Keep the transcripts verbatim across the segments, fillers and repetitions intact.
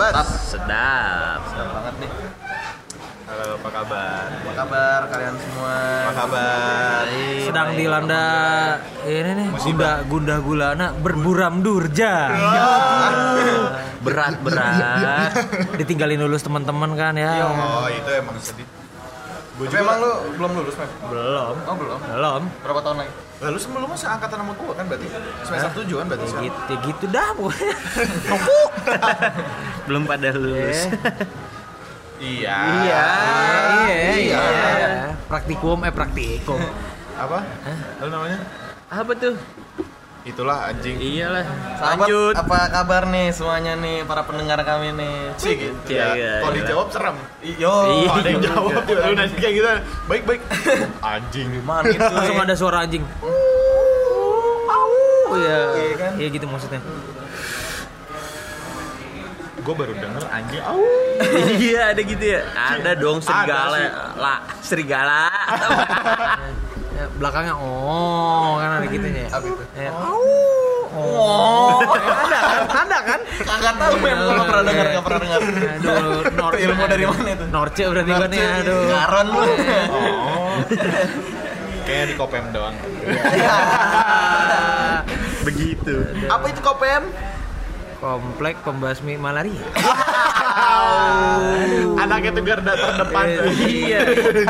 Mantap. Sedap. Sedap banget nih. Halo, apa kabar? Apa kabar kalian semua? Apa kabar? Sedang dilanda ini nih gunda gundah gulana berburam durja. Berat berat. Ditinggalin lulus teman-teman kan ya. Oh, itu emang sedih. Gue juga emang lu belum lulus, Mem? Belum. Oh, belum. Belum. Berapa tahun lagi? Lalu sebelumnya seangkatan sama gua kan berarti semester tujuh kan berarti Ya sekarang. gitu, ya gitu dah pokoknya. Belum pada lulus. Iya. Iya, iya, Iya. iya. Praktikum eh praktikum. Apa? Lalu namanya? Apa tuh? Itulah anjing. Iyalah. Sahabat, Lanjut. apa kabar nih semuanya nih para pendengar kami nih? Cik gitu. Iya, Ya. iya, Kalau iya. dijawab serem. Yo. Iya. Kalau ada yang jawab tiba lu nanya kayak gitu. Baik, baik. Anjing. Man itu Langsung ada suara anjing. Oh iya. Iya kan? Iya gitu maksudnya. Gua baru denger anjing. Au. Iya ada gitu ya. Ada dong serigala. Ada sih. Lah, serigala. Ya, belakangnya oh kan ada gitunya ya. Apa itu? Ya. Oh. Ada kan? Ada kan? Kagak tahu Mem, kalau pernah dengar enggak pernah dengar. Aduh, Nor Ilmu dari mana itu? Norce berarti kan ya. Aduh. Ngaron lu. Oh. Kayak di Kopem doang. Begitu. Apa itu Kopem? Komplek pembasmi malaria. Anaknya tuh garda terdepan. Iya.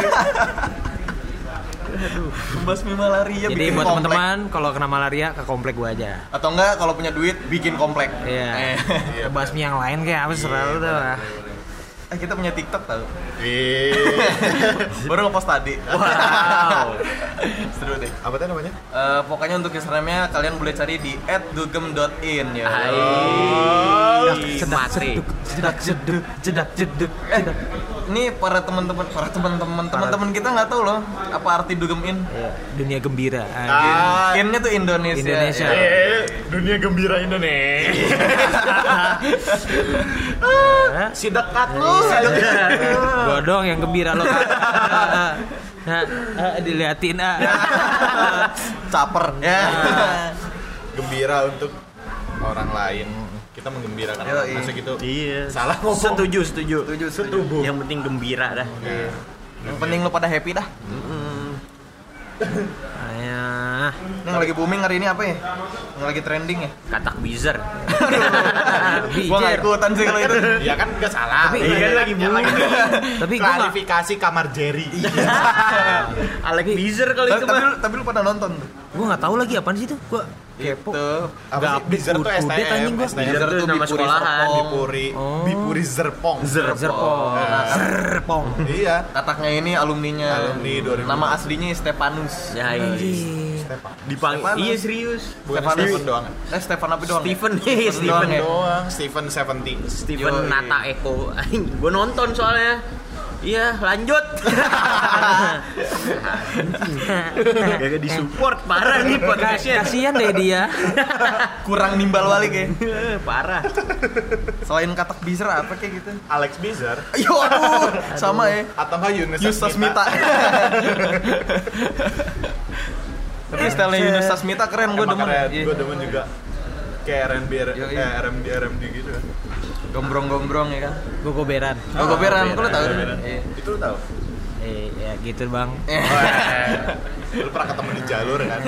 Membasmi malaria. Jadi bikin buat komplek. teman-teman kalau kena malaria ke komplek gua aja. Atau enggak kalau punya duit bikin komplek. Iya. Eh. Ke basmi yang lain kayak apa selalu tuh. Eh kita punya TikTok tau. Ih. Baru ngepost tadi. Wow. Seru deh. Apa tuh namanya? Eh, pokoknya untuk Instagramnya kalian boleh cari di et dugem dot in ya. Hai. Sedak Mati. Jedak jeduk, jedak jeduk. Eh, ini para teman-teman, para teman-teman, teman-teman kita nggak tahu loh apa arti dugem in. Iya, dunia gembira. Ah. Innya tuh Indonesia. Indonesia. Ya. Eh, dunia gembira Indonesia. Hah? Si dekat lu. Gua dong yang gembira lo. Nah, diliatin ah. Caper ya. Gembira untuk orang lain. Kita menggembirakan Yo, orang. iya. Masa gitu. Iya. Salah ngomong. Setuju, setuju. Setuju, setuju. Yang penting gembira dah. Iya. Yang penting lu pada happy dah. Ayah, Ini yang lagi booming hari ini apa ya? Yang lagi trending ya? katak bizer. Gua nggak ikutan sih kalau itu. Ya kan enggak salah. Tapi- Iya kan lagi Yang booming. Tapi gua nggak. Klarifikasi kamar Jerry. Alex Bizer kalau itu Tapi mah. lu, tapi lu pada nonton tuh? Gua nggak tahu lagi apaan sih itu. Gua kepo. Itu Apa Nggak sih? Bizer tuh update S T update anjing M. gua. S T M Bizer tuh nama Bipuri sekolahan. Serpong. Bipuri, Oh. Bipuri Zerpong. Zerpong. Nah. Zerpong. Iya. Kataknya ini alumninya. Alumni dua ribu. Nama aslinya Stefanus. Ya iya. Stepan. Dipanggil. Stefanus. Iya serius. Bukan Stefanus. Stephen doang. Eh Stefan apa doang? Steven nih, Steven Steven doang ya? Doang. Stephen seventeen. Steven Yoi. Nata Eko. Gue nonton soalnya. Iya, lanjut. Gak disupport parah nih podcastnya. Kasian deh dia. Kurang nimbal balik ya. Parah. Selain katak bizer apa kayak gitu? Alex Bizer. Yo aduh, sama ya. Atau enggak Yunus Yunus Sasmita. Tapi stylenya Yunus Sasmita keren, gue demen. Iya. Gue demen juga. Kayak R and B, Yoi. eh, R and B, R and B gitu kan. Gombrong-gombrong ya kan. Gogoberan. Oh, goberan, kok lu tahu? Goberan. Iya. Itu lu tahu? Eh, ya gitu bang. Lu pernah ketemu di jalur kan?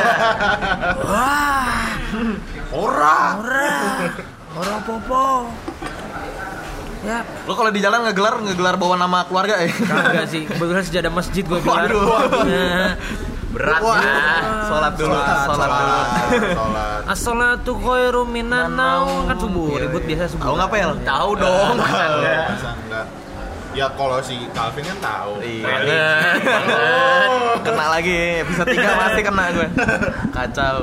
Wah, Ora. ora, ora popo. Ya, Lo kalau di jalan ngegelar ngegelar bawa nama keluarga ya? kagak sih. Kebetulan sejadah masjid gue gelar. Waduh. Nah, berat Wah, ya. sholat dulu, sholat dulu. Sholat. As-sholatu khairum minan naum. Kan subuh, ribut biasa subuh. Tahu nggak Pel? Tahu dong. Masa enggak? Masa enggak? Ya kalau si Calvin kan tahu. Iya. Kena lagi, episode tiga pasti kena gue. Kacau.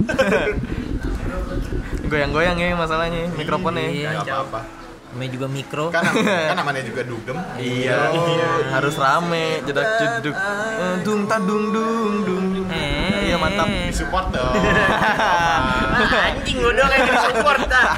Goyang-goyang ya masalahnya, mikrofonnya. Iya. Enggak apa-apa. Namanya juga mikro. Kan kan namanya juga dugem. Iya, harus rame, jedak jeduk, Eh, dung ta dung dung dung. Eh. Iya mantap. Disupport dong. Anjing lu dong yang di-support dah.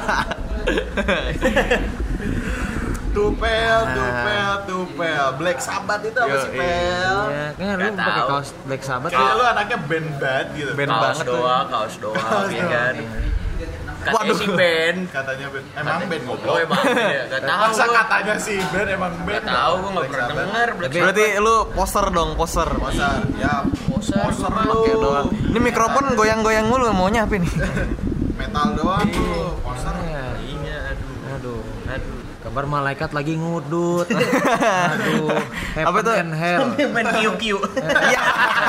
Tupel, tupel, tupel. Black Sabbath itu apa Yo, sih, Pel? Iya, kayaknya lu Nggak pakai tahu. kaos Black Sabbath. Kayak lu anaknya band banget gitu. Band Kaos banget tuh. doang, kaos doang, ya kan. Katanya Waduh. si band. Katanya band. Emang band Oh goblok. emang ya, gak tahu Masa gua. katanya si band emang band. Gak tahu gua nggak Black pernah Sabbath. denger Black Sabbath. Berarti lu poser dong, poser. Masa ya Poser, poser lu. Oke doang. Ini mikrofon goyang-goyang mulu, maunya apa nih? metal doang tuh. Poser. Iya, aduh. Aduh, Aduh. kabar malaikat lagi ngudut. Aduh, Apa heaven tuh? and hell. Main Q Q. Iya.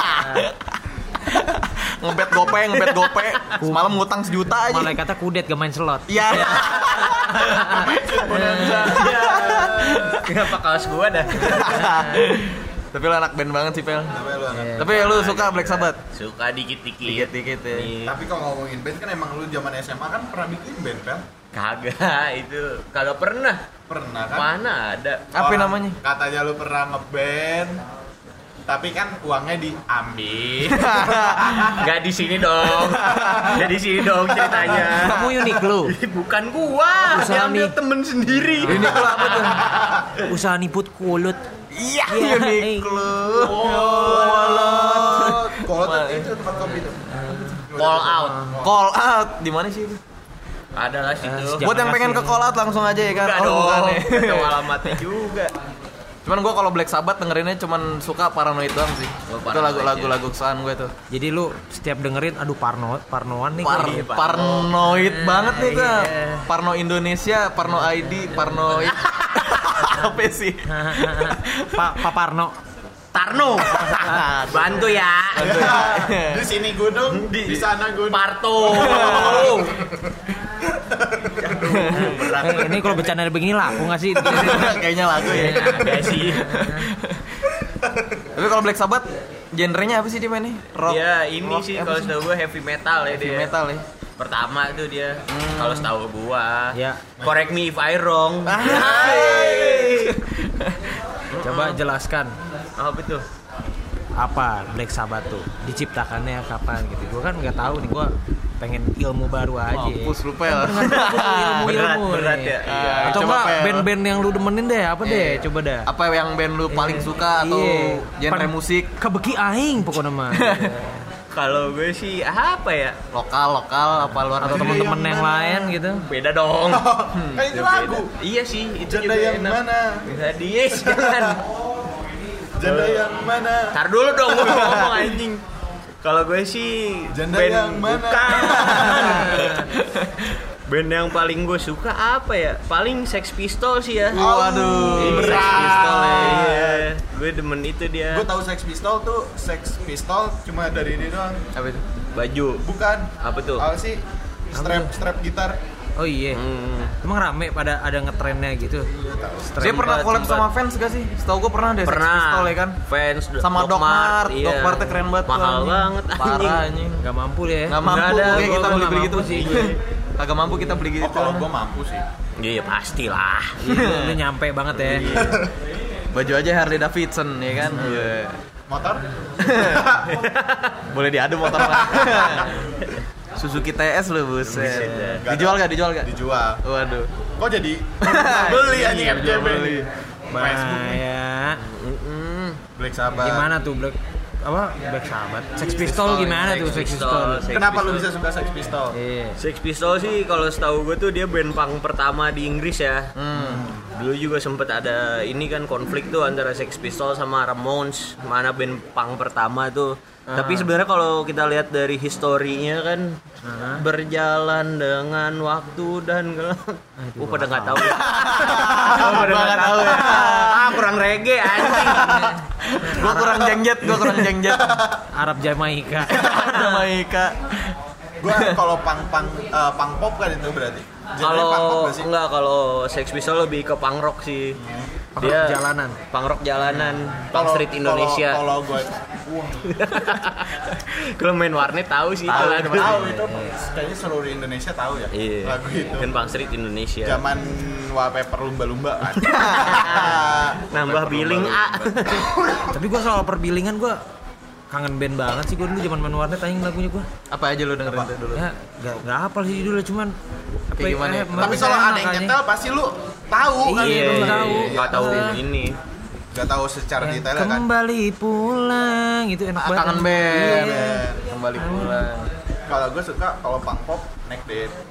Ngebet gope, ngebet gope. Semalam ngutang sejuta aja. Malaikatnya kudet gak main slot. Iya. Kenapa kaos gua dah? Tapi lu anak band banget sih, Pel. Tapi lu anak. Tapi lu suka Black Sabbath? Suka dikit-dikit. Dikit-dikit ya. Iya. Tapi kalau ngomongin band kan emang lu zaman S M A kan pernah bikin band kan? Kagak, itu kagak pernah. Pernah kan? Mana ada? Apa Orang namanya? Katanya lu pernah ngeband. Tapi kan uangnya diambil. Enggak di sini dong. Enggak di sini dong ceritanya. Kamu unik lu. Bukan gua, Usaha diambil nih. temen sendiri. Ini kalau apa tuh? Usaha niput kulut. Iya, Iya, Uniqlo. Oh, kalau tuh itu tempat kopi tuh. Call out. Call out di mana sih itu? Ada lah situ. Jangan Buat yang pengen kasih ke call out langsung aja ya kan? Bukan Oh, dong. bukan ya. Nggak tahu alamatnya juga. Cuman gue kalau Black Sabbath dengerinnya cuman suka Paranoid doang sih. Oh, Itu Paranoid lagu-lagu ya. lagu kesukaan gue tuh. Jadi lu setiap dengerin aduh parno parnoan nih. Par gua. Iya, Parno. paranoid banget nih tuh. Iya. Parno Indonesia, Parno I D, Parnoid. Apa sih? Pak Pak Parno. Tarno. Bantu ya. Di sini gunung, di, di sana gunung. Parto. Eh, ini kalau bercanda begini laku nggak sih? Kayaknya lagu ya. Ada sih. Tapi kalau Black Sabbath genrenya apa sih dia mainnya? Rock. Dia ini rock sih apa kalau setahu gua heavy metal ya Heavy dia. metal ya. Pertama tuh dia. Kalau setahu gua. Ya, Correct me if I wrong. Hai. coba jelaskan Apa itu? apa Black Sabbath tuh diciptakannya kapan gitu. Gua kan nggak tahu nih, gua pengen ilmu baru aja. Mampus lu Pel. ilmu Berat, ilmu berat nih. ya. Iya. Atau Coba, enggak Pel. band-band yang lu demenin deh, apa deh, coba dah. Apa yang band lu paling suka atau Iya. genre Pan- musik Kebeki aing pokoknya mah. Kalau gue sih apa ya? lokal lokal apa luar Atau negeri? teman-teman yang lain gitu. Beda dong. Kan itu lagu. Iya sih, itu Janda juga yang enak. mana? Bisa dies jangan. Janda yang mana? Tar dulu dong gue mau ngomong anjing. Kalau gue sih Janda band yang mana? bukan. Band yang paling gue suka apa ya? Paling Sex Pistols sih ya. Waduh, Iya, berat. Sex Pistols ya. Iya. Gue demen itu dia. Gue tahu Sex Pistol tuh Sex Pistol cuma dari ini doang. Apa itu? Baju. Bukan. Apa tuh? Apa sih? Strap strap gitar. Oh iya. Hmm. Emang rame pada ada ngetrennya gitu. Dia pernah Tempat- collab sama tempat. fans gak sih? Setahu gue pernah deh Sex Pernah. Pistol ya kan? Fans Sama Doc Mart. iya. Doc Mart keren banget tuh, Mahal anjing. banget anjing. Parah anjing. Gak mampu ya. Gak mampu Nggak ada, kayak gua- kita gua beli-beli nggak gitu mampu sih. sih. Kagak mampu kita beli gitu. Oh, kalau gue mampu sih. Iya pastilah. Iya, lu nyampe banget ya. Baju aja Harley Davidson ya kan? Iya. Motor? Boleh diadu motor lah. Suzuki T S lu buset. Buset, dah. Dijual gak? Dijual gak? Dijual. Waduh. Kok jadi beli anjing Iya, F J B? beli. Facebook nih. Bahaya. Black Sabbath. Gimana tuh Black apa Black Sabbath? Sex Sex Pistol Pistol, gimana Sex tuh Sex Pistol. Pistol? Sex Kenapa Pistol. lu bisa suka Sex Pistol? Iya. Sex Pistols sih kalau setahu gue tuh dia band punk pertama di Inggris ya. Hmm. Dulu juga sempet ada ini kan konflik tuh antara Sex Pistols sama Ramones, mana band punk pertama tuh. Tapi sebenarnya kalau kita lihat dari historinya kan berjalan dengan waktu dan uh pada nggak tahu. Oh, pada Gua nggak tahu ya. Ah kurang reggae anjing. Gua kurang jengjet, gua kurang jengjet. Arab Jamaika. Jamaika. Gua kalau punk punk eh, punk pop kan itu berarti. Genre punk pop Kalau gak sih? enggak kalau Sex Pistols lebih ke punk rock sih. Punk rock jalanan. Punk rock jalanan, punk Kalau- street Indonesia. Kalau kalau gue Kalau main warnet tahu sih tahu, itu lagu. tahu itu kayaknya seluruh Indonesia tahu ya Iya. lagu itu. Kan punk street Indonesia. Zaman wallpaper lumba-lumba kan. Nambah billing A. Tapi gua soal perbilingan gua kangen band banget sih gua dulu zaman main warnet anjing lagunya gua. Apa aja lu dengerin Apa? tuh dulu? Ya enggak enggak hafal sih judulnya cuman apa Kayak gimana ya? Tapi kalau ada yang nyetel pasti lu tahu kan. Iya, Iya, belum tahu. Enggak tahu Ah. ini. Gak tahu secara detailnya kan. Kembali pulang itu enak Ah, banget. kangen band. Iya. Kembali pulang. Kalau gue suka kalau punk pop Neck Dead.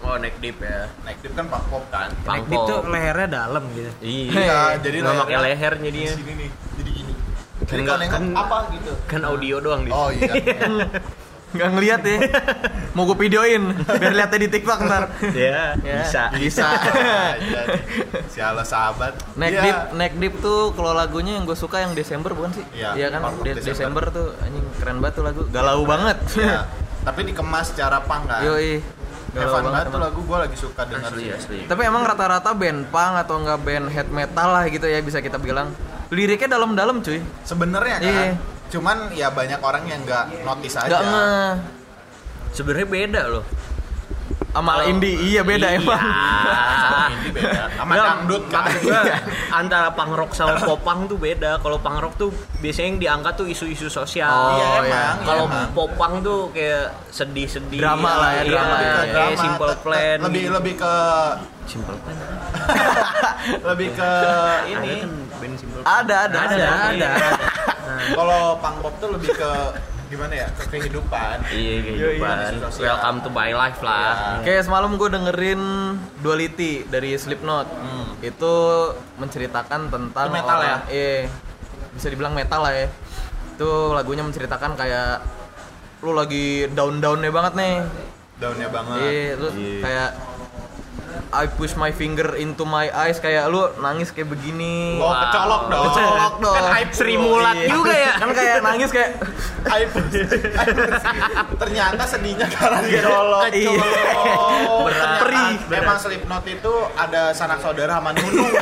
Oh, neck deep ya. Neck deep kan punk pop kan. Neck deep tuh lehernya dalam gitu. Iya, jadi nggak pakai lehernya leher jadinya. di sini nih, jadi gini. Jadi Enggak, kalau nengok kan- apa gitu. Kan audio doang di. Oh iya. Nggak ngeliat ya. Mau gue videoin biar lihatnya di TikTok ntar. Ya, Ya. bisa. Bisa. Iya. Sialah sahabat. Neck Iya. Deep, Neck Deep tuh kalau lagunya yang gue suka yang Desember bukan sih? Iya, kan? Part of De- Desember. Desember tuh anjing keren banget tuh lagu. Galau banget. Iya. Tapi dikemas secara punk kan. Yoi. Galau Evan banget tuh emang. lagu gue lagi suka denger Asli, sih. asli. Tapi emang rata-rata band punk atau enggak band head metal lah gitu ya bisa kita bilang. Liriknya dalam-dalam cuy. Sebenarnya kan. Iya. Cuman ya banyak orang yang nggak notice aja. Enggak nge Sebenarnya beda loh. sama Kalau- indie iya beda Iya. emang. Sama indie beda. Sama Nggak, dangdut kan. maksud gua, antara punk rock sama pop punk tuh beda. Kalau punk rock tuh biasanya yang diangkat tuh isu-isu sosial. Oh, Iya iya. emang. Kalau iya, emang. pop punk tuh kayak sedih-sedih. Drama lah ya, Iya, drama ya. kayak Drama, Simple te- te- Plan. lebih lebih ke Simple Plan. lebih ke ini. Ada kan band Simple Plan. Ada ada Ada, ada. ada. Kalau punk pop tuh lebih ke gimana ya? Ke kehidupan. Iya, kehidupan. Isu sosial. Welcome to my life lah. Kayak semalam gue dengerin Duality dari Slipknot. Itu menceritakan tentang Itu metal orang- Iya. Bisa dibilang metal lah ya. Itu lagunya menceritakan kayak lu lagi down-downnya banget nih. Daunnya banget. Iya, lu kayak I push my finger into my eyes kayak lu nangis kayak begini. Oh, kecolok dong. Kecolok dong. Kan aib Sri lu. Mulat Iya. juga ya. Kan kayak nangis kayak Aib. Ternyata sedihnya karena dicolok. Iya. Oh, Berat. ternyata Perih. Memang Slipknot itu ada sanak saudara sama Nunung.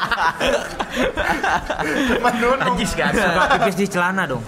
Sama Nunung. Najis kan? Suka pipis di celana dong.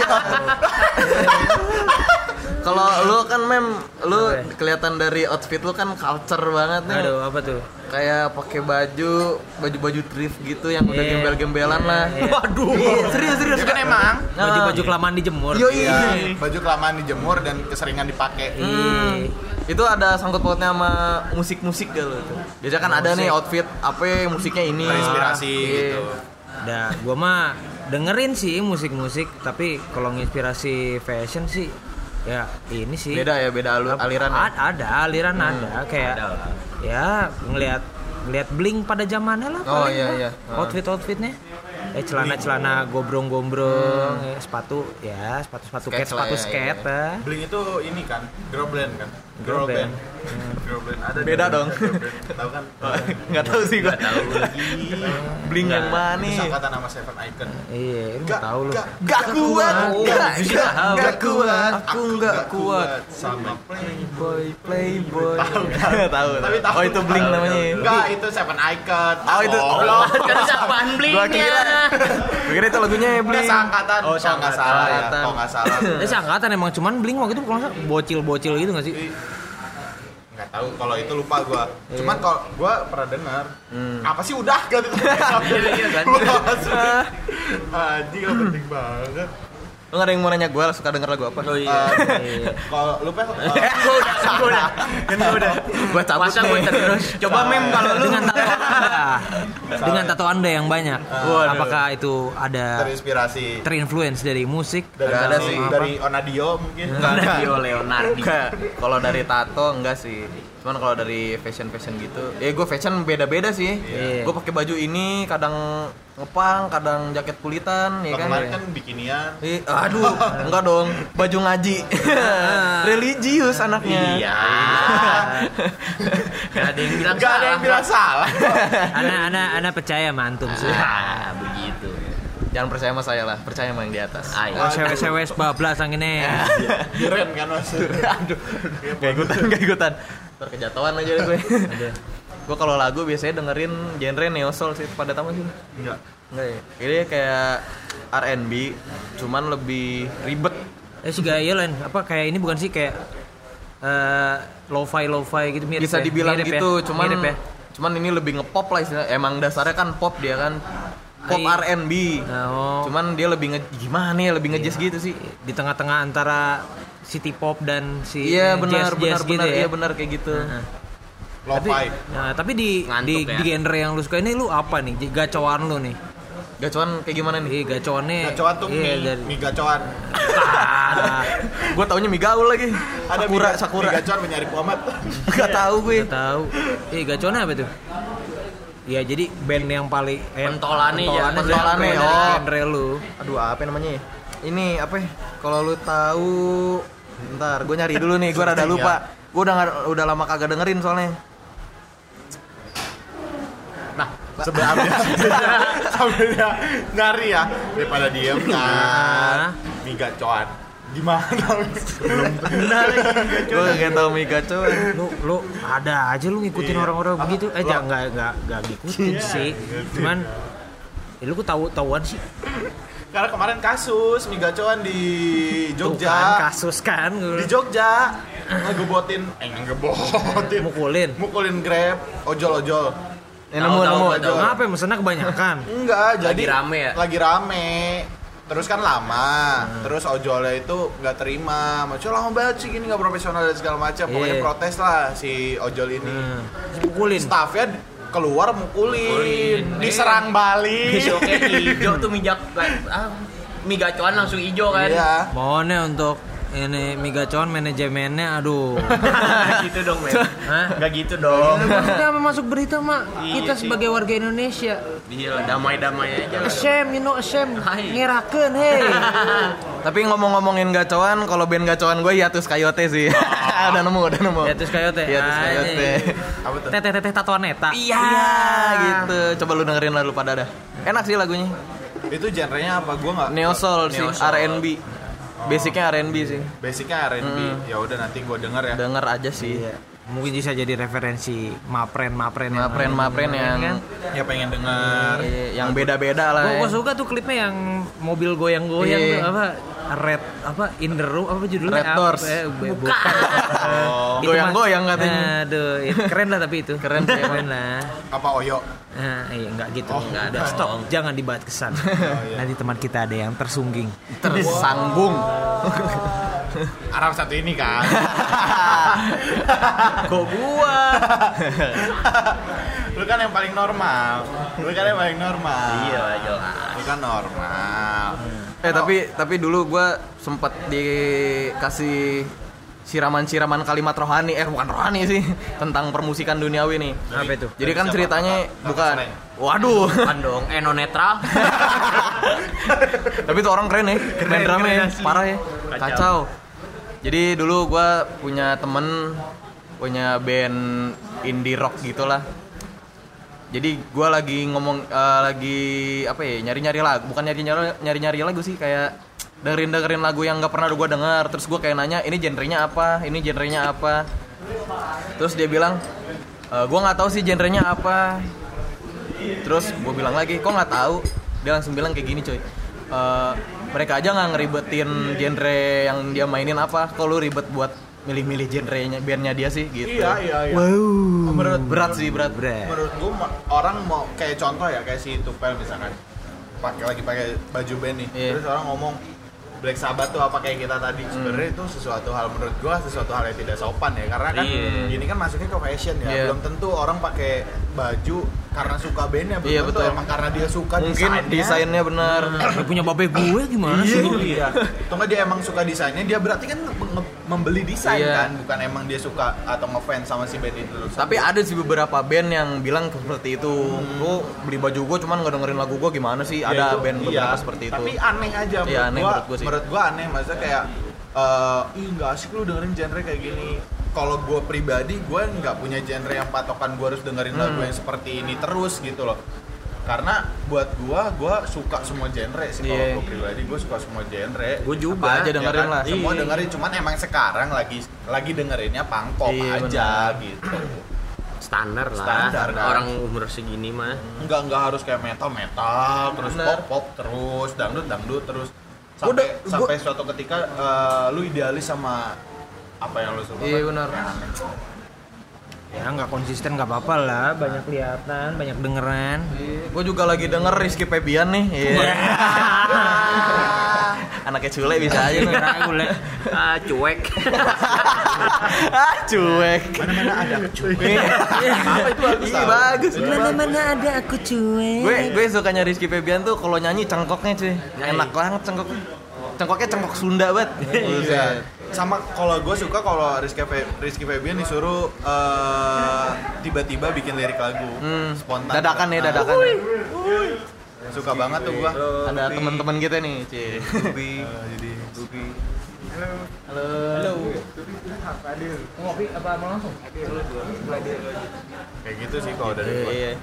kalau lu kan mem lu Apa ya? kelihatan dari outfit lu kan culture banget nih. Aduh, apa tuh? Kayak pakai baju baju-baju thrift gitu yang udah Iya. gembel-gembelan lah. Iya. Waduh. Iya, serius serius Itu kan emang Baju-baju kelamaan dijemur. Yo Iya, iya. baju kelamaan dijemur dan keseringan dipakai. Hmm. Itu ada sangkut pautnya sama musik-musik gitu. Biasanya kan ada nih outfit apa musiknya ini. Terinspirasi Iya. gitu. Dah, gua mah dengerin sih musik-musik, tapi kalau nginspirasi fashion sih ya ini sih. Beda ya, beda alu- aliran. ya? A- ada aliran ada kayak Ada lah. ya ngelihat ngelihat bling pada zamannya lah Oh, paling iya, lah. iya. Outfit outfitnya eh celana celana gombrong-gombrong ya, sepatu ya sepatu sepatu Skate skate sepatu lah ya, skate iya, ah. Bling itu ini kan, girl band kan? Girl band. Girl band. Ada Beda di- dong. girl band. Tahu kan? Nggak tahu sih gua. Nggak tahu lagi. Bling yang mana Itu nih? sangkatan nama Seven Icon. Iya lu Gak, tahu lu gak, Gak kuat, Oh, gak, bisa gak, tahu. gak kuat, aku gak kuat. sama Playboy, playboy. Tahu Tahu, tahu. Tapi tahu. Oh itu Bling Tahu, namanya. Enggak, itu Seven Icon. Oh, itu- Goblok. Kan apaan Gua blingnya? kira, gua kira itu lagunya Udah Bling. seangkatan. Oh, kalau nggak salah ya. seangkatan. Kalau nggak salah. eh seangkatan emang cuman bling waktu itu kalau nggak salah bocil-bocil gitu nggak sih? Nggak tahu kalau itu lupa gua. Cuman kalau gua pernah dengar. Hmm. Apa sih udah gitu. Iya, kan? Anjing nggak penting banget. Lu nggak ada yang mau nanya gue suka denger lagu apa? Oh iya. Eh, Kalau lu Pel, eh, Gua udah, gua udah. Kan gua udah. Gua cabut Masa gua nih. terus. Coba mem kalau lu Dengan tato anda, dengan tato anda yang banyak, Waduh. apakah itu ada terinspirasi terinfluence dari musik? dari Nggak ada dari, sih. dari Onadio mungkin. Enggak ada. Dio Leonardi. Enggak. Kalau dari tato enggak sih. Cuman kalau dari fashion-fashion gitu, ya gue fashion beda-beda sih. Iya. Gue pakai baju ini kadang ngepang, kadang jaket kulitan, ya Kalau kan. kemarin kan bikinian. Ih, aduh, enggak dong, baju ngaji. Religius anaknya. Iya. Gak ada yang bilang Gak ada yang bilang salah. Anak-anak anak percaya mantum sih. Ah, begitu. Jangan percaya sama saya lah, percaya sama yang di atas. Ayo. Oh, cewek-cewek bablas angin Keren kan mas. Aduh, gak ikutan, gak ikutan. Ntar kejatuhan aja deh gue. Gue kalau lagu biasanya dengerin genre neo soul sih, pada tamu sih. Enggak. Enggak ya. Ini kayak R and B, cuman lebih ribet. Eh si gaya lain apa kayak ini bukan sih kayak eh lo-fi lo-fi gitu mirip Bisa ya? dibilang Mirip gitu, ya? cuman Mirip ya? cuman ini lebih ngepop lah istilahnya. Emang dasarnya kan pop dia kan. Pop Ai. R and B. Oh. Cuman dia lebih nge gimana ya, lebih ngejazz gitu sih. Di tengah-tengah antara city pop dan si Iya eh, benar benar jazz-jazz benar gitu ya. iya benar kayak gitu. Heeh. Tapi, Lo-fi. nah, tapi di Ngantuk di, ya. di genre yang lu suka ini lu apa nih? Gacauan lu nih. Gacoan kayak gimana nih? Ih, gacoannya. Gacoan tuh iya, mie, dari mie gacoan. ah, Gue taunya mie gaul lagi. Ada Sakura, mie, Sakura. mie gacoan mencari Muhammad. Gak tahu gue. nggak tahu. Ih, gacoannya apa tuh? Ya jadi band yang paling eh, Pentolannya ya, pentolannya pentolannya, dari oh. genre lu. Aduh, apa namanya ya? Ini apa ya? Kalau lu tahu, bentar, gue nyari dulu nih. Gue rada lupa. Gue udah nggak- udah lama kagak dengerin soalnya. Nah, sebenarnya sambil dia nyari ya daripada diem kan. Mie gacoan. Gimana? Gue gak tau mie gacoan. Lu lu ada aja lu ngikutin Iya. orang-orang Apa? begitu. Eh Lu- jangan enggak enggak enggak ngikutin sih. Cuman ya lu kok tahu tahuan sih. Karena kemarin kasus mie gacoan di Tuh Jogja. kan, kasus kan. Di Jogja ngegebotin, eh ngegebotin. Mukulin. Mukulin Grab, ojol-ojol. Eh, nemu, Tahu, tahu, nemu. tahu, tahu. Ngapa mesennya kebanyakan? Enggak, jadi Lagi rame ya? Lagi rame. Terus kan lama, terus ojolnya itu nggak terima, maksudnya lama banget sih gini nggak profesional dan segala macam. Pokoknya Iya. protes lah si ojol ini. Hmm. Mukulin. Staffnya keluar mukulin, Mukulin. diserang balik. Besoknya hijau tuh mie jak- ah, mie gacoan langsung hijau kan. Iya. Mohonnya untuk ini mie gacoan manajemennya aduh. Gak gitu dong, men. Hah? Gak gitu dong. Maksudnya apa masuk berita mak? Iya Kita sih. sebagai warga Indonesia Iya, damai-damai aja. ashamed, you know ashamed. Hai. Ngerakeun hey. Tapi ngomong-ngomongin gacoan, kalau band gacoan gue Hiatus Coyote sih. Udah nemu, udah nemu. Hiatus Coyote. Hiatus Ah, Coyote. Apa tuh? Teteh teteh tatoan neta. Iya, gitu. Coba lu dengerin lah lu pada dah. Enak sih lagunya. Itu genrenya apa? Gua nggak. Neo Soul sih, Neo Soul. R and B. Basicnya R and B sih. Basicnya R and B. Ya udah nanti gua denger ya. Denger aja sih. Mungkin bisa jadi referensi mapren mapren yang Mapren mapren yang kan? Ya pengen denger. iya, yang beda-beda lah. Gua, ya. gua suka tuh klipnya yang mobil goyang-goyang Iya. tuh apa Red apa In the Room apa judulnya? Red Apa? Doors. Eh, bu- Bukan. bukan. Oh, Itu Goyang-goyang mah- katanya. Aduh, itu keren lah tapi itu. Keren sih, keren lah. apa Oyo? Nah, iya enggak gitu. Oh, enggak ada. enggak Stop. dong. Jangan dibahas kesan. Nanti teman kita ada yang tersungging. Tersambung. Arab satu ini kan. Kok gua? Lu kan yang paling normal. Lu kan yang paling normal. Iya, jelas. Lu kan normal. Eh tapi tapi dulu gue sempet dikasih siraman-siraman kalimat rohani, eh bukan rohani sih, tentang permusikan duniawi nih. Apa itu? Jadi kan Siapa? ceritanya Kakak bukan, Sreng. waduh. Bukan dong, eno netral. Tapi tuh orang keren ya, main drumnya keren ya, asli. parah ya, Kacau. kacau. Jadi dulu gue punya temen, punya band indie rock gitulah. Jadi gue lagi ngomong, eh, lagi apa ya, nyari-nyari lagu, bukan nyari-nyari nyari-nyari lagu sih, kayak dengerin-dengerin lagu yang nggak pernah gue denger. Terus gue kayak nanya, ini genrenya apa, ini genrenya apa. Terus dia bilang, e, gue nggak tahu sih genrenya apa. Terus gue bilang lagi, kok nggak tahu? Dia langsung bilang kayak gini coy, e, mereka aja nggak ngeribetin genre yang dia mainin apa. Kok lu ribet buat milih-milih genrenya bandnya dia sih gitu. Iya, iya, iya. Wow. Menurut berat sih berat. Berat. menurut gua ma- orang mau kayak contoh ya kayak si Tupel misalkan pakai lagi pakai baju band nih, Iya. terus orang ngomong Black Sabbath tuh apa kayak kita tadi. Sebenarnya itu sesuatu hal menurut gua sesuatu hal yang tidak sopan ya, karena kan Iya. ini kan masuknya ke fashion ya. Iya. Belum tentu orang pakai baju karena suka bandnya, belum Iya, tentu betul. emang karena dia suka Mungkin desainnya. desainnya bener. Dia punya babe gue gimana sih? Iya. Atau nggak dia emang suka desainnya, dia berarti kan nge- membeli desain Iya. kan, bukan emang dia suka atau ngefans sama si band itu. Tapi ada sih beberapa band yang bilang seperti itu. Lu beli baju gue cuman nggak dengerin lagu gue gimana sih? Ya, Ada itu- band beberapa iya. seperti itu. Tapi aneh aja menurut Iya, aneh gua. menurut gua sih. Menurut gua aneh, maksudnya kayak eh ih nggak asik lu dengerin genre kayak gini. Kalau gua pribadi, gua nggak punya genre yang patokan gua harus dengerin Hmm. lagu yang seperti ini terus gitu loh. Karena buat gua, gua suka semua genre sih. Kalau Iya. gua pribadi, gua suka semua genre. Gua juga. Apa aja dengerin Ya kan? lah. Semua Iya. dengerin, cuman emang sekarang lagi lagi dengerinnya punk pop Iya, aja gitu. Standar lah. Standar, kan? Orang umur segini mah. Enggak enggak harus kayak metal metal terus Bener. pop pop terus dangdut dangdut terus Gua sampai udah- gua- sampai suatu ketika eh, lu idealis sama apa yang lu suka. Iya, benar. Kayak aneh. Ya nggak konsisten nggak apa-apa lah, banyak kelihatan, banyak dengeran. Gue juga lagi denger Rizky Febian nih. Iya. Anaknya Cule bisa aja nih. Ragu le. Ah, cuek. Ah, cuek. Mana-mana ada cuek. Apa itu bagus? Iya, bagus. Mana-mana ada aku cuek. Gue gue sukanya Rizky Febian tuh kalau nyanyi cengkoknya cuy. Enak banget cengkoknya. Cengkoknya cengkok Sunda banget. Iya. Sama kalau gue suka kalau Rizky Fe, Rizky Febian disuruh uh, tiba-tiba bikin lirik lagu Hmm. spontan. Dadakan ya, dadakan. Uh, suka banget tuh gue. Ada teman-teman kita nih, Ci. Bubi. Jadi Halo. Halo. Ngopi apa mau langsung? kayak gitu sih kalau dari gue. Iya.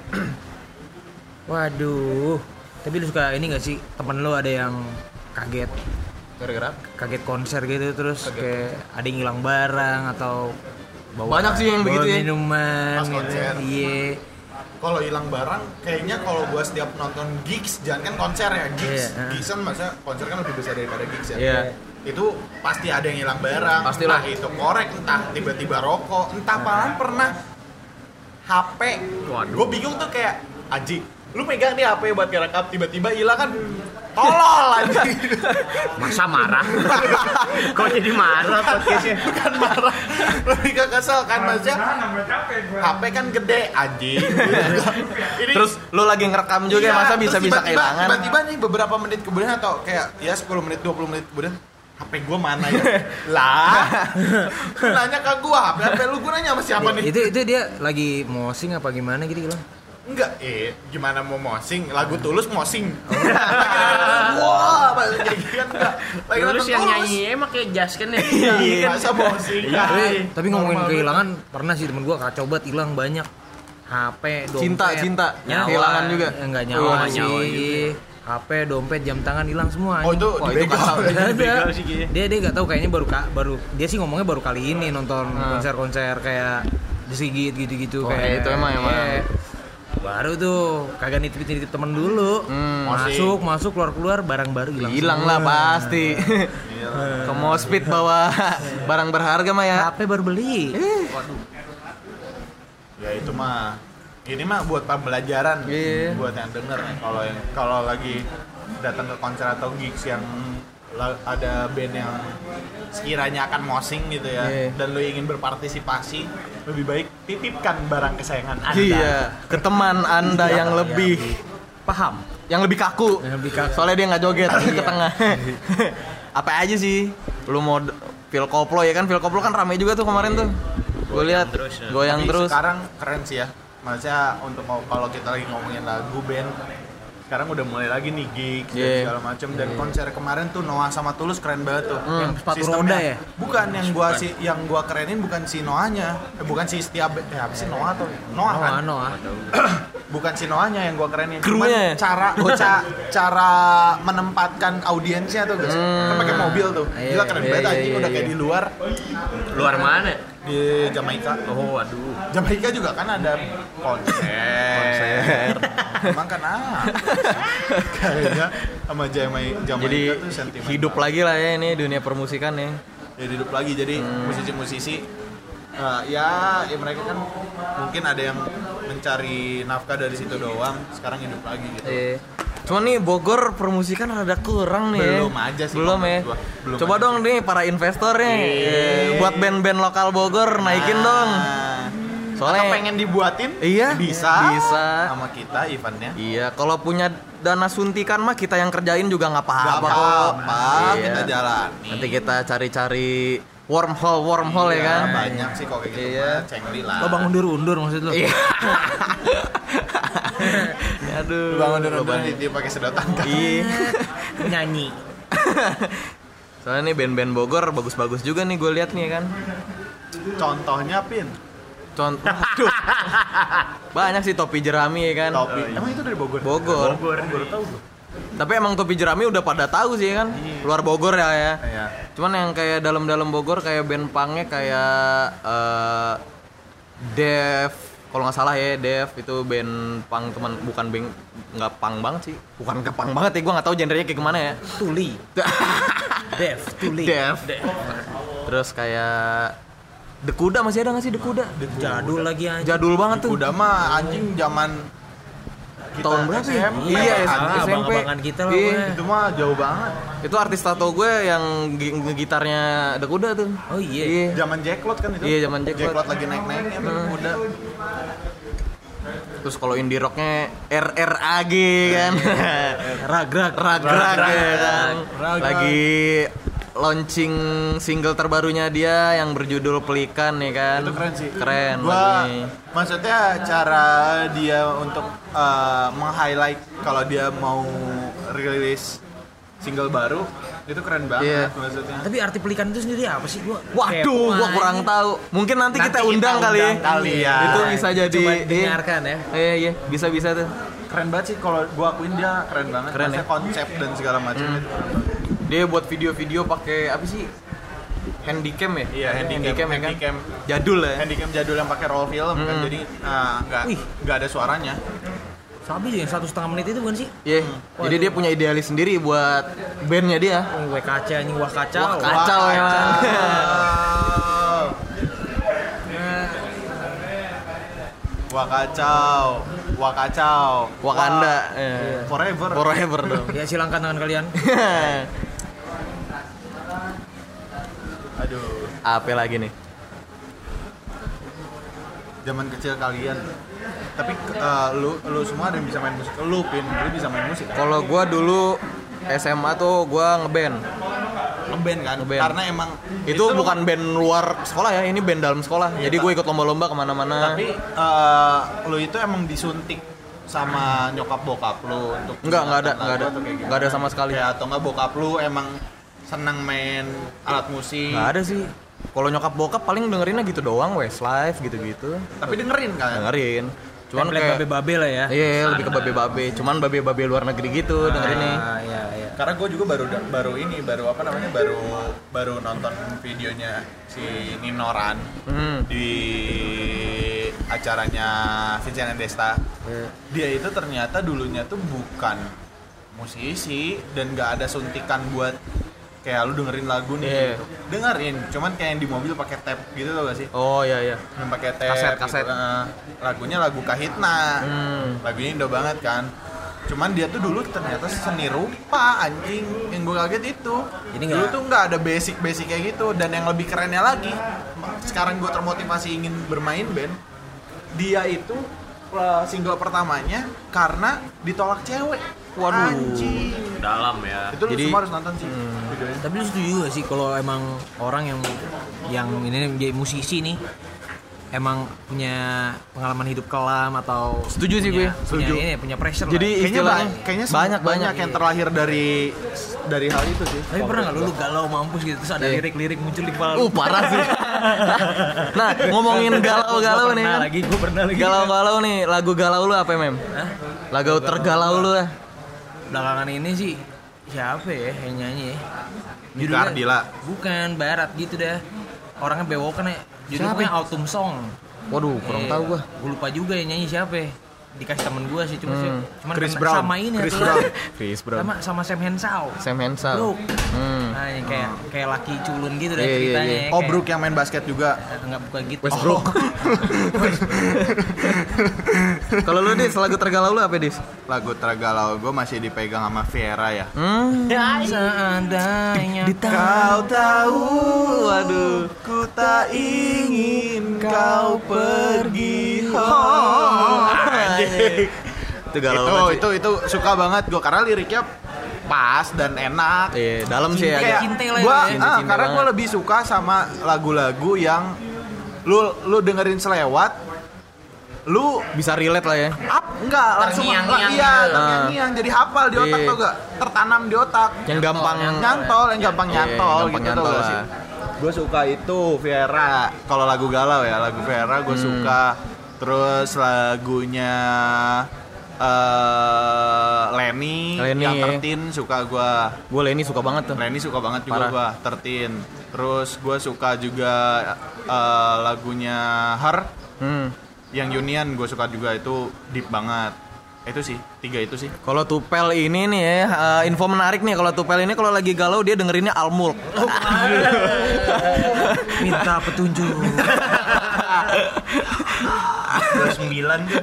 Waduh. Tapi lu suka ini gak sih temen lu ada yang kaget Gara-gara kaget konser gitu terus kayak ada yang hilang barang atau bawa Banyak sih yang bawa begitu ya. minuman Pas gitu. konser. Iya. Kalau hilang barang, kayaknya kalau gue setiap nonton gigs, jangan kan konser ya, gigs, Iya, uh. gigs kan masa konser kan lebih besar daripada gigs ya. Iya. Itu pasti ada yang hilang barang. Pastilah. Entah itu korek, entah tiba-tiba rokok, entah apaan pernah H P. Waduh. Gue bingung tuh kayak, Aji, lu megang nih H P buat ngerekam, tiba-tiba hilang kan, tolol Aji. Masa marah? Kok jadi marah podcastnya? Bukan marah, lebih ke kesel kan maksudnya. H P kan gede, Aji. Ini Terus lu lagi ngerekam juga iya, masa bisa-bisa terus tiba-tiba- kehilangan? Tiba-tiba nih beberapa menit kemudian atau kayak ya sepuluh menit dua puluh menit kemudian H P gua mana ya? Lah. Lu nanya ke gua, H P H P lu gua nanya sama siapa nih? Itu itu dia lagi mosing apa gimana gitu hilang. Enggak, eh gimana mau mosing? Lagu Tulus mosing. Wah, kayak gitu kan enggak. Lagi Terus nonton yang Tulus. nyanyi emang kayak Jas kan ya? Iya, masa mosing. Tapi, Kan? tapi ngomongin Normal kehilangan pernah sih temen gua kacau banget hilang banyak. H P, dompet, Cinta, cinta. nyawa, Kehilangan juga. Ya, enggak Oh, nyawa nyawa sih. H P, dompet, jam tangan hilang semua. Oh, itu Wah, itu dibegal. kacau. Ada. Begal sih kayaknya. Dia dia nggak tahu kayaknya baru ka- baru dia sih ngomongnya baru kali ini nonton Hmm. konser-konser kayak The Sigit gitu-gitu Oh, kayak itu emang, emang. iya. Baru tuh kagak nitip-nitip temen dulu. Hmm. Masuk, masuk, keluar-keluar barang baru hilang. Hilang semua. lah pasti. Ke Mospit bawa barang berharga mah ya. H P baru beli. Ya itu mah ini mah buat pembelajaran Iya. buat yang denger nih kalau yang kalau lagi datang ke konser atau gigs yang la- ada band yang sekiranya akan mosing gitu ya Iya. dan lo ingin berpartisipasi lebih baik titipkan barang kesayangan Anda. Iya, ke teman Anda Iya, yang iya. lebih paham, yang lebih kaku. Yang lebih kaku. Soalnya dia nggak joget ke tengah. Apa aja sih? Lu mau d- Phil Koplo ya kan? Phil Koplo kan rame juga tuh kemarin tuh. Gue lihat terus ya. goyang Tapi terus. sekarang keren sih ya. Maksudnya untuk mau- kalau kita lagi ngomongin lagu band sekarang udah mulai lagi nih gigs dan Yeah. segala macam dan konser kemarin tuh Noah sama Tulus keren banget tuh. Hmm. Yang sepatu Sistemnya. roda ya? Bukan yang gua si yang gua kerenin bukan si Noahnya, eh, bukan si setiap eh apa sih Noah atau Noah kan? Noah, Noah. Bukan si Noahnya yang gua kerenin, Krunya ya? cara ca- cara menempatkan audiensnya tuh guys. Kan pakai mobil tuh. Iya, Gila keren iya, banget iya, anjing iya, udah iya. kayak di luar Luar mana? di Jamaika. Oh, waduh. Jamaika juga kan ada konser. Emang kan ah. Kayaknya sama Jamaika, Jamaika Jadi tuh sentimen. hidup lagi lah ya ini dunia permusikan ya. Jadi hidup lagi. Jadi musisi-musisi eh, ya ya mereka kan mungkin ada yang mencari nafkah dari situ doang, sekarang hidup lagi gitu. Iya. Cuma nih Bogor permusikan rada kurang nih. ya. Belum aja sih Belum ya. menurut gua. Belum Coba aja dong nih para investornya eh, buat band-band lokal Bogor naikin dong. Soalnya Atau pengen dibuatin? Iya, Bisa. bisa. Sama kita eventnya. Iya, kalau punya dana suntikan mah kita yang kerjain juga nggak Gak apa-apa kok. apa-apa, Iya. kita jalani. Nanti kita cari-cari wormhole wormhole ya kan. Banyak sih kok kayak gitu. Iya. mah, cengli lah. Lo bang undur-undur maksud lo? Iya. Aduh. Lu bangun dulu berarti dia pakai sedotan kan. Iya. Nyanyi. Soalnya nih band-band Bogor bagus-bagus juga nih gue lihat nih ya kan. Contohnya Pin. Contoh, aduh. Banyak sih topi jerami ya kan. Topi. Emang itu dari Bogor? Bogor. Bogor. Baru tahu gua. Tapi emang topi jerami udah pada tahu sih ya kan. Luar Bogor ya ya. Iya. Cuman yang kayak dalam-dalam Bogor kayak band punknya kayak eh Dev, kalau nggak salah ya Dev itu band punk teman bukan band nggak punk banget sih, bukan ke punk banget ya, gue nggak tahu genrenya kayak gimana ya. Tuli. Dev, Tuli. Dev. Terus kayak The Kuda masih ada nggak sih The Kuda? Jadul lagi aja. Jadul banget tuh. Udah mah anjing zaman tahun berapa ya? S M P. Iya, Ah, S M P. abang-abangan kita lah Iya. pokoknya. Itu mah jauh banget. Itu artis tato gue yang gi- ngegitarnya ada kuda tuh. Oh iya. Iya. Zaman Jacklot kan itu. Iya, zaman Jacklot. lagi naik-naiknya tuh Hmm. udah. Terus kalau indie rocknya R R A G kan. Ragrak, Ragrak ya kan. Ragrak. Lagi launching single terbarunya dia yang berjudul Pelikan ya kan. Itu keren sih. Keren Gua lagunya. maksudnya cara dia untuk uh, meng-highlight kalau dia mau rilis single baru itu keren banget Iya. maksudnya. Tapi arti pelikan itu sendiri apa sih gua? Waduh, kepo gua aja. kurang tahu. Mungkin nanti, Nanti kita kita undang kali ya. undang kali ya. Itu bisa jadi Coba iya. dengarkan ya. Iya, iya, bisa-bisa tuh. Keren banget sih kalau gua akuin dia keren banget. Keren Maksudnya ya? konsep dan segala macam Hmm. itu. Dia buat video-video pakai apa sih? Handycam ya? Iya, handycam, handycam, ya kan? handycam. Jadul ya. Handycam jadul yang pakai roll film kan Hmm. jadi ah, nggak Wih. nggak ada suaranya. Sabi yang satu setengah menit itu bukan sih? Iya. Jadi dia punya idealis sendiri buat bandnya dia. Oh, W K C anjing wah kacau. Wah, kacau Wah, emang. Wah kacau, wah kacau, Wakanda. Wah, eh. forever. Forever dong. Ya silangkan tangan kalian. Aduh, Apa lagi nih? zaman kecil kalian. Tapi eh, lu lu semua ada yang bisa main musik. Lu pin, lu bisa main musik. Kan? Kalau gua dulu S M A tuh gua ngeband. Ngeband kan? Ngeband. Karena emang Itu, bukan band luar sekolah ya, ini band dalam sekolah. Iya, Jadi Pak. gue ikut lomba-lomba kemana-mana. Tapi eh, lu itu emang disuntik sama nyokap bokap lu untuk Enggak, enggak ada, lagu enggak ada. atau kayak gitu? Enggak ada sama sekali. Kayak atau enggak bokap lu emang senang main alat musik. Nggak ada sih. Kalau nyokap bokap paling dengerinnya gitu doang, Westlife gitu-gitu. Tapi dengerin kan? Dengerin. Cuman Template kayak babe-babe lah ya. iya, lebih ke babe-babe. Cuman babe-babe luar negeri gitu dengerinnya. Ah, iya, iya. Karena gue juga baru baru ini baru apa namanya baru baru nonton videonya si Ninoran Hmm. di acaranya Vincent and Desta. Dia itu ternyata dulunya tuh bukan musisi dan nggak ada suntikan buat kayak lu dengerin lagu nih Iya. gitu. Dengerin, cuman kayak yang di mobil pakai tape gitu tau gak sih? Oh iya iya. Yang pakai tape Kaset, gitu. kaset. Eh, lagunya lagu Kahitna. Hmm. Lagunya Indo banget kan. Cuman dia tuh dulu ternyata seni rupa anjing. Yang gue kaget itu. Jadi dulu nggak- tuh nggak ada basic-basic kayak gitu. Dan yang lebih kerennya lagi, sekarang gue termotivasi ingin bermain band. Dia itu uh, single pertamanya karena ditolak cewek. Waduh. Anjing. Dalam ya. Itu lu Jadi- semua harus nonton sih videonya. Tapi lu setuju gak sih kalau emang orang yang yang ini jadi musisi nih emang punya pengalaman hidup kelam atau Setuju sih punya- gue, punya setuju. ini punya pressure Jadi lah. Kayaknya, istilahnya ba- kayaknya banyak banyak banyak yang terlahir dari dari hal itu sih. Tapi pernah gak lu, lu galau mampus gitu terus ada Iya. lirik-lirik muncul di kepala Uh lu? parah sih. Nah ngomongin galau-galau Gua nih pernah kan. lagi, gue pernah lagi. Galau-galau nih, lagu galau lu apa mem? Hah? Lagu tergalau lu lah. Belakangan ini sih siapa ya yang nyanyi ya? Nika Ardila. Bukan, barat gitu dah. Orangnya bewokan ya. Judulnya Autumn Song. Waduh kurang Eh, tahu gua. Gue lupa juga yang nyanyi siapa ya. Dikasih temen gue sih cuma sih. Hmm. Cuman Chris kena- Brown. sama ini Chris satu Brown. lagi. Chris Brown. Sama sama Sam Henshaw. Sam Henshaw. Brook. Hmm. Nah, ini kayak kayak laki culun gitu deh Iya, iya, ceritanya. iya. ya, Oh, kayak- Brook yang main basket juga. Eh, Enggak bukan gitu. Westbrook. Kalau lu Dis, lagu tergalau lu apa Dis? Lagu tergalau gue masih dipegang sama Vera ya. Hmm. Seandainya Kau tahu, waduh, ku tak ingin kau pergi. Oh, Itu galau itu, banget sih. itu itu suka banget gue karena liriknya pas dan enak. Iya, dalam sih ya. Kayak Cinta lah gua, ya. ah, Cinta-cinta karena gue banget. lebih suka sama lagu-lagu yang lu lu dengerin selewat, lu Bisa relate lah ya. up enggak langsung Terngiang-ngiang iya gitu. terngiang-ngiang jadi hafal di otak Iya. tuh gak tertanam di otak Yang gampang nyantol yang gampang Iya, nyantol gampang gitu nyantol tuh lah. sih. Gue suka itu Vera kalau lagu galau ya lagu Vera gue Hmm. suka terus lagunya eh Lenny, Lenny, yang ya. tertin suka gue. Gue Lenny suka banget tuh. Lenny suka banget juga Parah. gue tertin. Terus gue suka juga eh, lagunya Her Hmm. yang Union gue suka juga itu deep banget. Itu sih tiga itu sih. Kalau Tupel ini nih ya, eh, info menarik nih kalau Tupel ini kalau lagi galau dia dengerinnya Almulk. minta petunjuk. Terus sembilan tuh.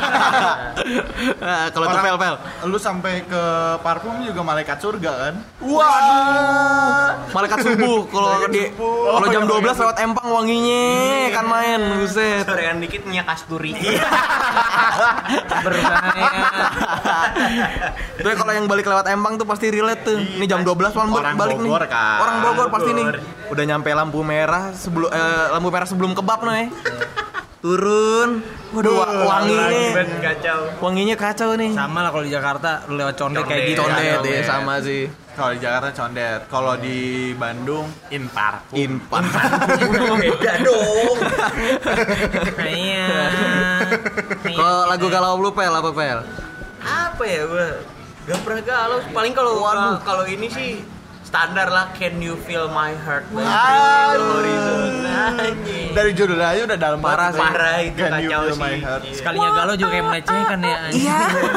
Nah, kalau tuh Orang- pel pel. Lu sampai ke parfum juga malaikat surga kan? Wah. Malaikat subuh kalau di subuh. kalau jam Oh, dua belas iya, lewat Empang wanginya kan main, buset. Sorean dikit minyak kasturi. Berbahaya. Tuh kalau yang balik lewat Empang tuh pasti relate tuh. Ini jam dua belas malam Orang balik nih. Bogor, kan? Orang Bogor pasti nih. Bogor. Udah nyampe lampu merah sebelum eh, lampu merah sebelum kebab nih. Turun. Waduh wa- wanginya. Ben kacau. Wanginya kacau nih. Sama lah kalau di Jakarta lu lewat condet Condet. kayak gitu. Condet Condet. ya sama sih. Kalau di Jakarta condet, kalau di Bandung in parfum. Inpan. Beda dong. Iya. Kalau lagu galau lu pel apa pel? Apa ya gua? Gak pernah galau. Paling kalau kalau ini sih standar lah, Can You Feel My Heart by Ah. Bring Horizon. Anjing. Dari judul aja udah dalam Parah banget. sih. Parah itu, Can you kacau feel my sih. heart? Iya. Sekalinya galau juga kayak melecehkan ya. Iya.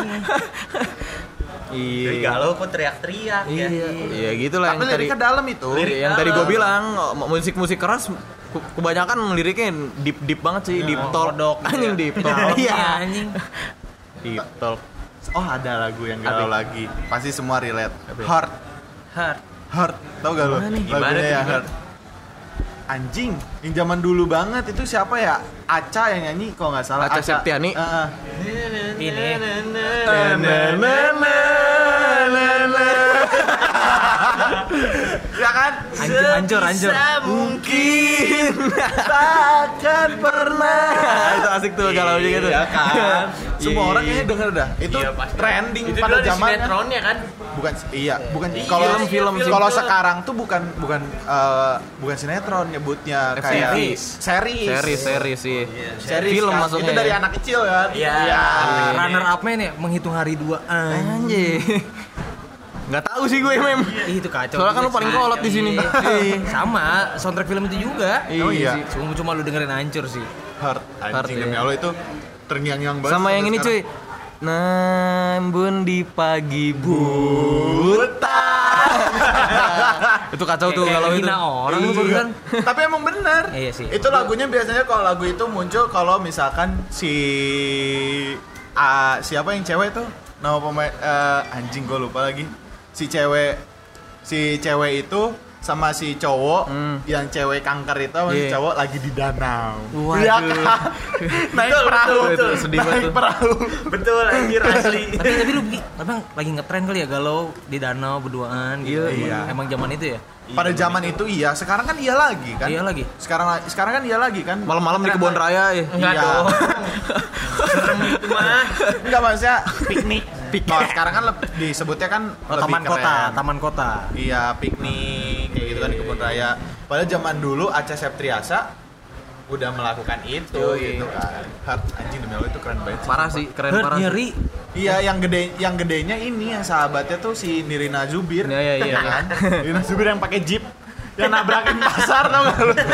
Dari Iya. galau kok teriak-teriak ya. Iya, iya gitulah Tapi yang tadi. liriknya dalam itu. Lirik yang dalam. tadi gue bilang m- musik-musik keras ke- kebanyakan liriknya deep deep banget sih, deep talk. kodok. Anjing deep talk. Dalam Iya. ya, anjing. Deep talk. Oh, ada lagu yang galau Apa? lagi. Pasti semua relate. Heart. Heart. Heart. Tau gak lo? Gimana nih? Gimana Lagunya tuh, ya gimana? Heart. Anjing, yang zaman dulu banget itu siapa ya? Aca yang nyanyi kalau nggak salah. Acha Septiani? Heeh. Ini. Ya kan? Hancur, hancur, hancur. Mungkin Takkan pernah. itu asik tuh galau juga tuh. Iya kan? Semua Iya, orang iya. kayaknya denger dah. Itu Iya, pasti. trending Itu pada dulu ada zamannya. sinetronnya kan? Bukan iya, bukan Iya, kalau film-film sih. kalau sekarang tuh bukan bukan eh, bukan sinetron nyebutnya kayak Series. series. Seri seri sih. Series Film kan. masuknya. Itu dari ya. anak kecil kan? Iya. Runner up-nya nih menghitung hari dua. Anjir. Nggak tahu sih gue mem. Ih, itu kacau. Soalnya kan lu juga paling sih. kolot di sini. Iya. Sama, soundtrack film itu juga. Iya. Oh iya. Cuma cuma lu dengerin hancur sih. Heart. Heart, Anjing iya. demi Allah itu terngiang-ngiang banget. Sama yang sampai ini cuy. sekarang. Nambun di pagi buta. Itu kacau tuh Kayak kalau itu. hina orang lu Iya. barusan. Tapi emang bener. Iya sih. Itu lagunya biasanya kalau lagu itu muncul kalau misalkan si ah, siapa yang cewek tuh? Nama pemain eh, anjing gue lupa lagi. Si cewek si cewek itu sama si cowok Hmm. yang cewek kanker itu sama si Iya. cowok lagi di danau. Waduh. Iya kan? Naik Betul, perahu. betul, betul. Sedih banget Naik tuh. perahu. Betul anjir asli. tapi tapi lu Gi, emang lagi ngetren kali ya galau di danau berduaan gitu. Iya, iya. Emang zaman itu ya? Pada zaman itu iya, sekarang kan iya lagi kan? Iya lagi. Sekarang sekarang kan iya lagi kan? Malam-malam di kebun raya ya. Enggak Iya. dong. Serem itu mah. Enggak maksudnya piknik. Kalau sekarang kan leb- disebutnya kan Oh, lebih taman keren. kota, taman kota. Iya, piknik kayak gitu kan di kebun raya. Padahal zaman dulu Acha Septriasa udah melakukan itu Yoi. gitu kan. Heart anjing demi Allah itu keren banget. sih. Parah sih, keren Heart parah. sih. nyeri. Iya, yang gede yang gedenya ini yang sahabatnya tuh si Nirina Zubir. Iya, iya, iya. Kan? Nirina Zubir yang pakai jeep yang nabrakin pasar tau gak lu?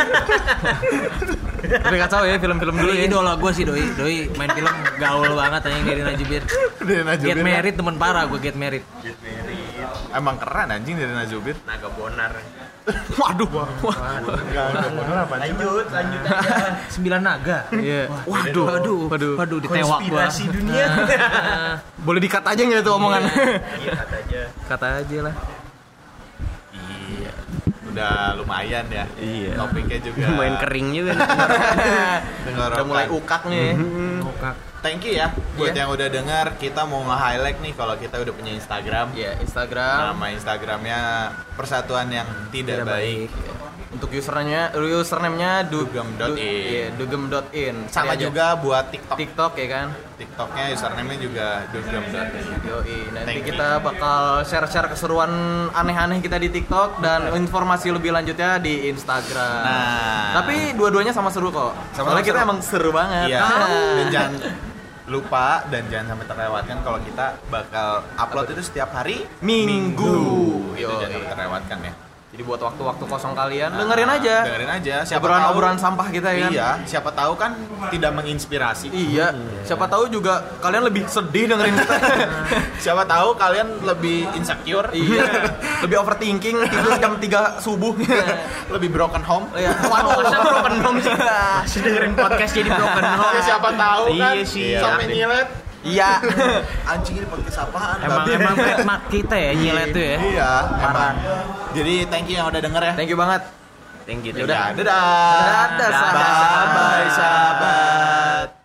Tapi kacau ya film-film dulu Doi ya. idola gue sih Doi. Doi main film gaul banget anjing dari Najibir. Nirina Get Zubir. Married temen parah gue Get Married. Emang keren anjing Nirina Zubir. Naga bonar. Waduh. Enggak, enggak bener apa sih? Lanjut, lanjut aja. Sembilan naga. Iya. Waduh. Waduh. Waduh. Waduh ditewak gua. Konspirasi dunia. Boleh dikat aja nggak itu omongan? Iya kata aja. Kata aja lah. Iya. Udah lumayan ya. Iya. Topiknya juga. Lumayan kering juga. Udah mulai ukak nih. Kokak. Thank you ya buat Iya. yang udah dengar. Kita mau nge-highlight nih kalau kita udah punya Instagram. Ya, Instagram. Nama Instagramnya Persatuan yang Tidak, Baik. Untuk username-nya, username-nya du- Dugem.in. du- iya, dugem.in. Sama Cari aja. juga buat TikTok. TikTok ya kan. TikToknya username-nya juga dugem.in. Yoi, nanti Thank you. kita bakal share-share keseruan aneh-aneh kita di TikTok dan informasi lebih lanjutnya di Instagram. Nah. Tapi dua-duanya sama seru kok. Sama-sama Soalnya kita seru. emang seru banget. Iya. Ah. Dan jangan lupa dan jangan sampai terlewatkan kalau kita bakal upload itu setiap hari Minggu. Itu Yoi. jangan sampai terlewatkan ya. Jadi buat waktu-waktu kosong kalian dengerin aja. Dengerin aja. Siapa Obrolan-obrolan tahu- sampah kita ya kan. Iya, siapa tahu kan tidak menginspirasi. Iya. Siapa tahu juga kalian lebih sedih dengerin kita. Siapa tahu kalian lebih insecure. Iya. Lebih overthinking tidur jam tiga subuh. Lebih broken home. Iya. Waduh, masa broken home sih. Masih dengerin podcast jadi broken home. Ya, siapa tahu kan Iya sih. sampai Iya. nyilet. Iya. Anjing ini podcast apaan? Emang babi? emang trademark kita ya nyilet tuh ya. Iya, emang. Jadi thank you yang udah denger ya. Thank you banget. Thank you. Yaudah. Dadah. Dadah, sahabat. Bye, sahabat.